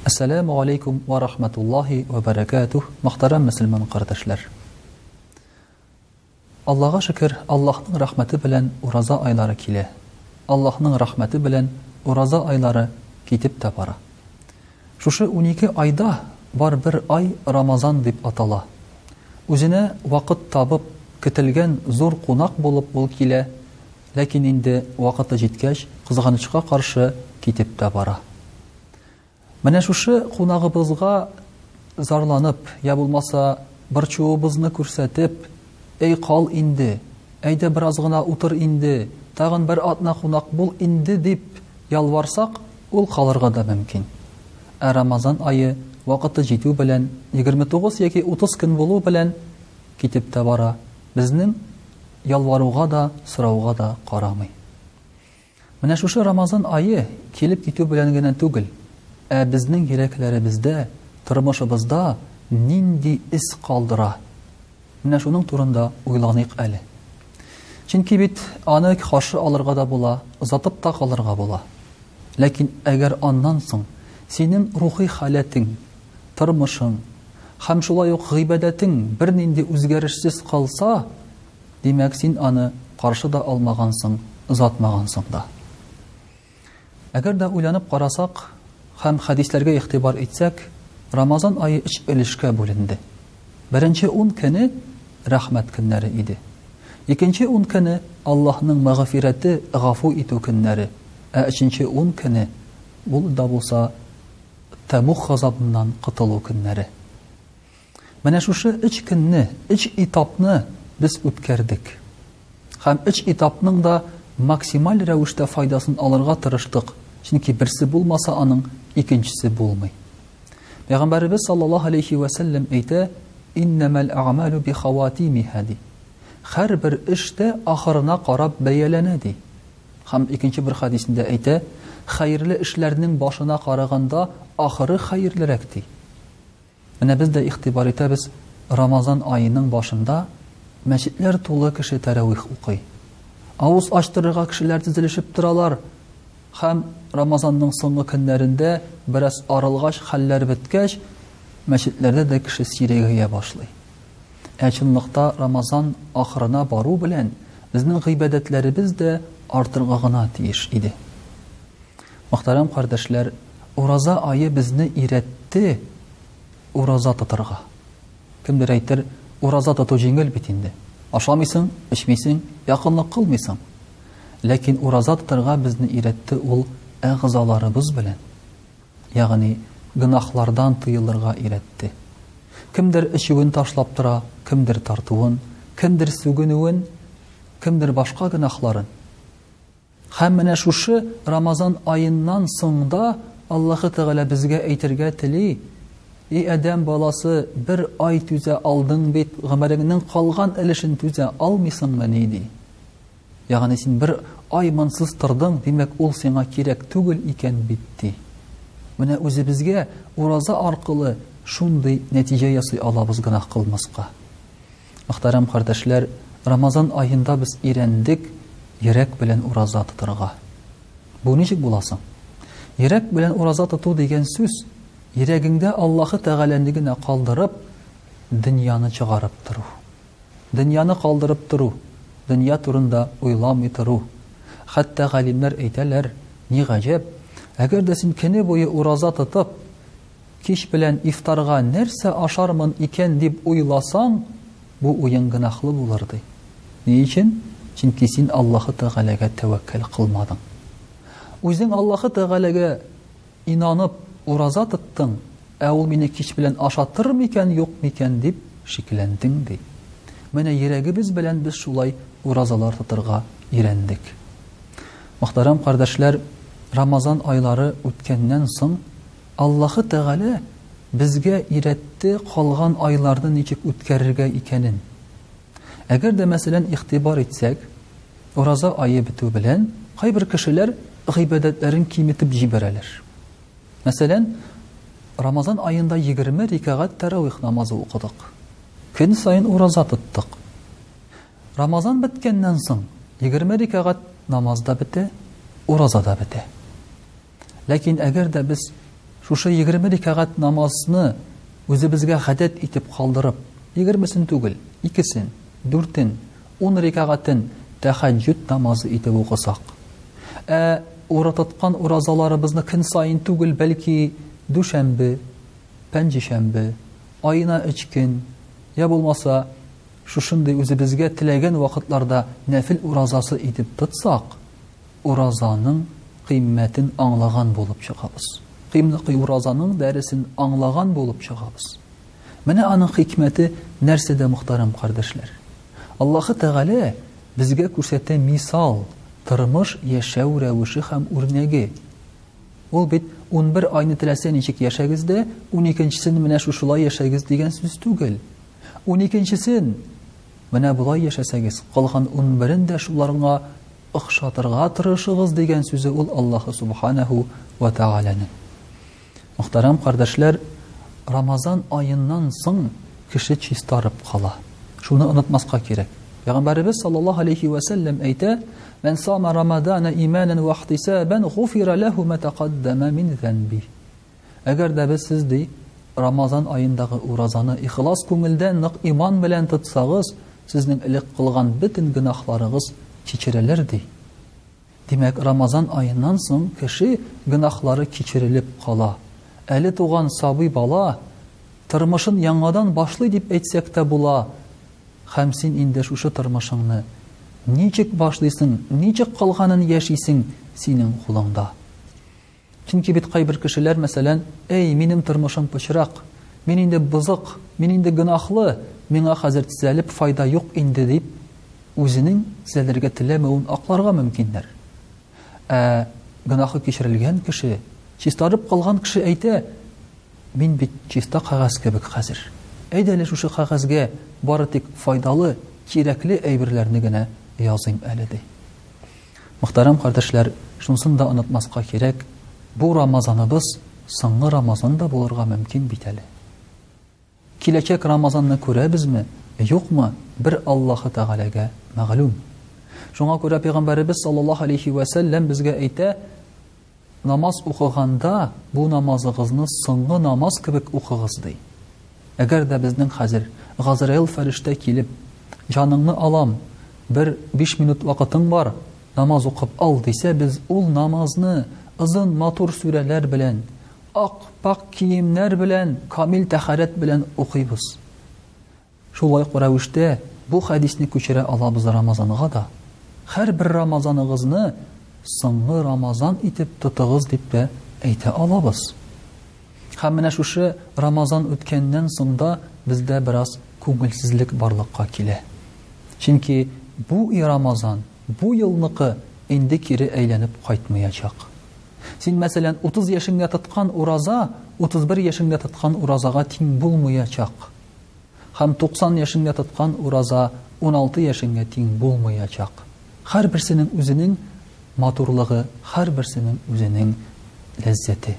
Ассаламу алейкум ва рахматуллахи ва баракатух. Мөхтәрәм мөселман кардәшләр. Аллаһка шөкер, Аллаһның рәхмәте белән ураза айлары килә. Аллаһның рәхмәте белән ураза айлары китеп тә бара. Шушы 12 айда бар бер ай Рамазан дип атала. Үзенә вакыт табып көтелгән зур кунак булып ул килә, ләкин инде вакыты җиткәч, кызганычка каршы китеп тә бара. Менә шушы кунагыбызга зарланып, я булмаса борчуыбызны күрсәтеп, "Эй кал инде, әйдә бераз гына утыр инде, тагын бер атна кунак бул инде" дип ялварсак, ул калырга да мөмкин. Рамазан айы вакыты җитү белән 29 яки 30 көн булу белән китеп тә бара. Безнең ялваруга да, сорауга да карамый. Менә шушы Рамазан айы килеп китү белән генә түгел, безнең йөрәкләребездә, тормышыбызда нинди ис калдыра. Менә шуның турында уйланыйк әле. Чөнки бит аны каршы алырга да була, озатып та калырга була. Ләкин әгәр аннан соң синең рухи халәтең, тормышың һәм шулай ук гыйбадәтең бернинди үзгәрешсез калса, димәк син аны каршы да алмагансың, озатмагансың да. Әгәр дә уйланып карасак һәм хәдисләргә игътибар итсәк, Рамазан айы 3 өлешкә бүленде. Беренче 10 көне рәхмәт көннәре иде. Икенче 10 көне Аллаһның мәгъфирәте, гафу итү көннәре. Өченче 10 көне бул да булса Табук газабыннан кытылу көннәре. Менә шушы 3 көнне, 3 этапны без үткәрдек. Һәм 3 этапның да максималь рәвештә файдасын алырга тырыштык. Чөнки берсе булмаса аның икенчесе булмый. Пәйгамбәрбез саллаллаһу алейхи ва саллям әйтә: "Иннамал а'малу би хаватимиха." Һәр бер эштә ахырына карап бәяләнә ди. Һәм икенче бер хадисендә әйтә: "Хәерле эшләрнең башына караганда ахыры хәерлерәк" ди. Менә без дә игътибар итәбез, Рамазан айының башында мәчетләр тулы кеше тәравих укый. Авыз ачтырырга кешеләр тезелешеп торалар. Һәм Рамазанның соңгы көннәрендә бераз арылгач, хәлләр беткәч, мәчетләрдә дә кеше сирәгәя башлый. Чынлыкта Рамазан ахырына бару белән безнең гыйбадәтләребез дә артырга гына тиеш иде. Мөхтәрәм кардәшләр, ураза айы безне иретте ураза тотырга. Кемдер әйтер, ураза тоту җиңел бит инде. Ашамыйсың, эчмисең, якынлык кылмыйсың. Ләкин ураза тотырга безне иретте ул әгъзаларыбыз белән. Ягъни гынахлардан тыелырга иретте. Кемдер эчүен ташлап тора, кемдер тартуын, кемдер сүгенүен, кемдер башка гынахларын. Һәм менә шушы Рамазан айыннан соңда Аллаһы Тәгалә безгә әйтергә тели: "И адәм баласы, бер ай түзә алдың бит, гомереңнең калган өлешен түзә алмыйсыңмы ди?" Ягъни син бер ай мансыз тордың, димәк ул сиңа кирәк түгел икән бит ди. Менә үзебезгә ураза аркылы шундый нәтиҗә ясый алабыз гына кылмаска. Мөхтәрәм кардәшләр, Рамазан айында без ирәндек йөрәк белән ураза тотырга. Бу ничек буласың? Йөрәк белән ураза тоту дигән сүз йөрәгеңдә Аллаһы Тәгаләне генә калдырып, дөньяны чыгарып тору. Дөньяны калдырып тору, дөнья турында уйламый тору. Хәтта галимнәр әйтәләр: "Ни гаҗәп, әгәр дә син көне буе ураза тотып, кич белән ифтарга нәрсә ашармын икән дип уйласаң, бу уен гынахлы булыр" ди. Ни өчен? Чөнки син Аллаһы Тәгаләгә тәвәккәл кылмадың. Үзең Аллаһы Тәгаләгә инанып ураза тоттың, ул мине кич белән ашатыр микән, юк микән дип шикләндең ди. Менә йөрәгебез белән без шулай уразалар тотырга ирәндек. Мөхтәрәм кардәшләр, Рамазан айлары үткәннән соң Аллаһы Тәгалә безгә иретте калган айларны ничек үткәрергә икәнен. Әгәр дә мәсәлән игътибар итсәк, ураза айы бетү белән кайбер кешеләр гыйбадәтләрен киметеп җибәрәләр. Мәсәлән, Рамазан айында 20 рикагать тәравих намазы укыдык. Көн сайын ураза тоттык. Рамазан беткәннән соң 20 рикагать намаз да бетә, ураза да бетә. Ләкин әгәр дә без шушы 20 рәкәгать намазны үзебезгә гадәт итеп калдырып, 20-сен түгел, 2-сен, 4-ен, 10 рәкәгатен тәһаҗҗүд намазы итеп укысак, урататкан уразаларыбызны көн сайын түгел, бәлки дүшәмбе, пәнҗешәмбе, айына 3 көн, я булмаса шушындый үзебезгә теләгән вакытларда нәфил уразасы итеп тотсак, уразаның кыйммәтен аңлаган булып чыгабыз. Кыйммәтле уразаның дәресен аңлаган булып чыгабыз. Менә аның хикмәте нәрсәдә, мөхтәрәм кардәшләр? Аллаһы Тәгалә безгә күрсәтә мисал, тормыш яшәү рәвеше һәм үрнәге. Ул бит 11 айны теләсә ничек яшәгез дә, 12-сен менә шушылай яшәгез дигән сүз түгел. 12-сен менә булай яшәсәгез, калган 11-ен дә шуларга охшатырга тырышыгыз дигән сүзе ул Аллаһы Субханаһу ва Тәгаләнең. Мөхтәрәм кардәшләр, Рамазан айыннан соң кеше чистарып кала. Шуны онытмаска кирәк. Пәйгамбәрбез саллаллаһу алейхи ва саллям әйтә: "Мен сама Рамадана иманан ва ихтисабан гуфира лаху ма тaqaddama min zanbi." Әгәр дә без сез Рамазан айындагы уразаны ихлас күңелдән, нык иман белән тотсагыз, сезнең элек кылган бөтен гынахларыгыз кичерелер ди. Димәк, Рамазан айыннан соң кеше гынахлары кичерелеп кала. Әле туган сабый бала тормышын яңадан башлый дип әйтсәк тә була. Һәм син инде шушы тормышыңны ничек башлыйсың, ничек калганын яшисең синең кулыңда. Чөнки бит кайбер кешеләр, мәсәлән, "Эй, минем тормышым пычрак, мин инде бызык, мин инде гынахлы, миңа хәзер төзәлеп файда юк инде" дип, үзенең төзәлергә теләмәвен акларга мөмкиннәр. Гынахы кичерелгән кеше, чистарып калган кеше әйтә: "Мин бит чиста кагаз кебек хәзер. Әйдә әле шушы кагазгә бары тик файдалы, кирәкле әйберләрне генә языйм әле" ди. Мөхтәрәм кардәшләр, шунысын да онытмаска кирәк. Бу Рамазаныбыз соңгы Рамазан да булырга мөмкин бит әле. Киләчәк Рамазанны күрәбезме, юкмы, бер Аллаһы Тәгаләгә мәгълүм. Шуңа күрә Пәйгамбәрбез саллаллаһу алейхи ва саллям безгә әйтә: "Намаз укыганда бу намазыгызны соңгы намаз кебек укыгыз" ди. Әгәр дә безнең хәзер Газраил фәрештә килеп, "Җаныңны алам, бер 5 минут вакытың бар, намаз укып ал" дисә, без ул намазны озын матур сүрәләр белән, ак-пак киемнәр белән, камил тәһарәт белән укыйбыз. Шулай рәвештә бу хәдисне күчерә алабыз Рамазанга да. Һәрбер Рамазаныгызны соңгы Рамазан итеп тотыгыз дип тә әйтә алабыз. Һәм менә шушы Рамазан үткәннән соң да бездә бераз күңелсезлек барлыкка килә. Чөнки бу Рамазан, бу елныкы инде кире әйләнеп кайтмаячак. Син, мәсәлән, 30 яшеңдә тоткан ураза 31 яшеңдә тоткан уразага тиң булмаячак. Һәм 90 яшеңдә тоткан ураза 16 яшеңгә тиң булмаячак. Һәрберсенең үзенең матурлыгы, һәрберсенең үзенең ләззәте.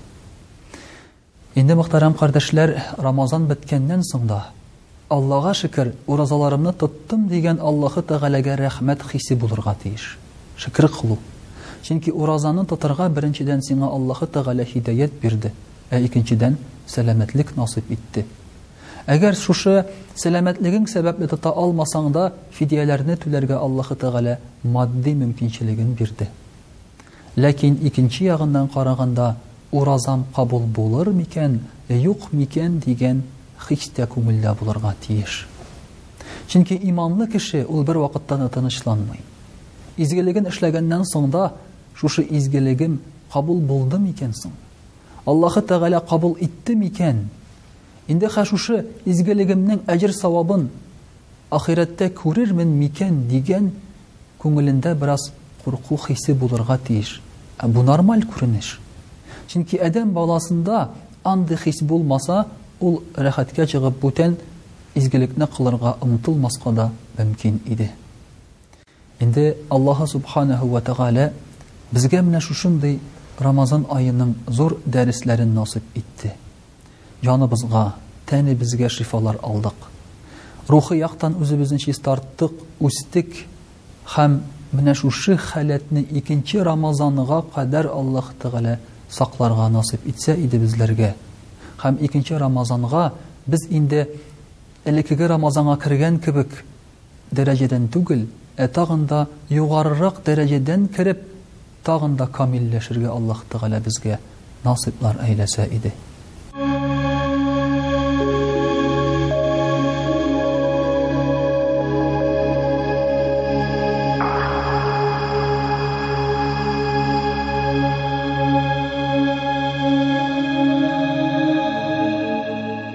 Инде, мөхтәрәм кардәшләр, Рамазан беткәннән соң да Аллаһка шөкер, уразаларымны тоттым дигән Аллаһы Тәгаләгә рәхмәт хисе булырга тиеш. Шөкр кылу. Чөнки уразаны тотарга беренчедән сиңа Аллаһы Тәгалә һидаят бирде, икенчедән сәламәтлек насыйп итте. Әгәр шушы сәламәтлегең сәбәпле тота алмасаң да, фидияләрне түләргә Аллаһы Тәгалә матди мөмкинчелеген бирде. Ләкин икенче ягыннан караганда, уразам кабул булыр микән, юк микән дигән хистә күңелдә булырга тиеш. Чөнки иманлы кеше ул бер вакытта тынычланмый. Изгелеген эшләгәннән соң да шушы изгелегем кабул булды микән соң? Аллаһы Тәгалә кабул итте микән? Инде шушы изгелегемнең әҗр савабын ахирәттә күрермен микән дигән күңелендә бераз курку хисе булырга тиеш. Бу нормаль күренеш. Чөнки адәм баласында андый хис булмаса, ул рәхәткә чыгып бүтән изгелекне кылырга омтылмаска да мөмкин иде. Инде Аллаһ Субханаһу ва Тәгалә безгә менә шушындый Рамазан айының зур дәресләрен насыйп итте. Җаныбызга, тәнебезгә шифалар алдык. Рухи яктан үзебезне чистарттык, үстек һәм менә шушы халәтне икенче Рамазанга кадәр Аллаһ Тәгалә сакларга насыйп итсә иде безләргә. Һәм 2нче Рамазанга без инде элеккеге Рамазанга кергән кебек дәрәҗәдән түгел, тагын да югарырак дәрәҗәдән кирип, тагын да камилләшергә Аллаһ Тәгалә безгә насыйплар әйләсә иде.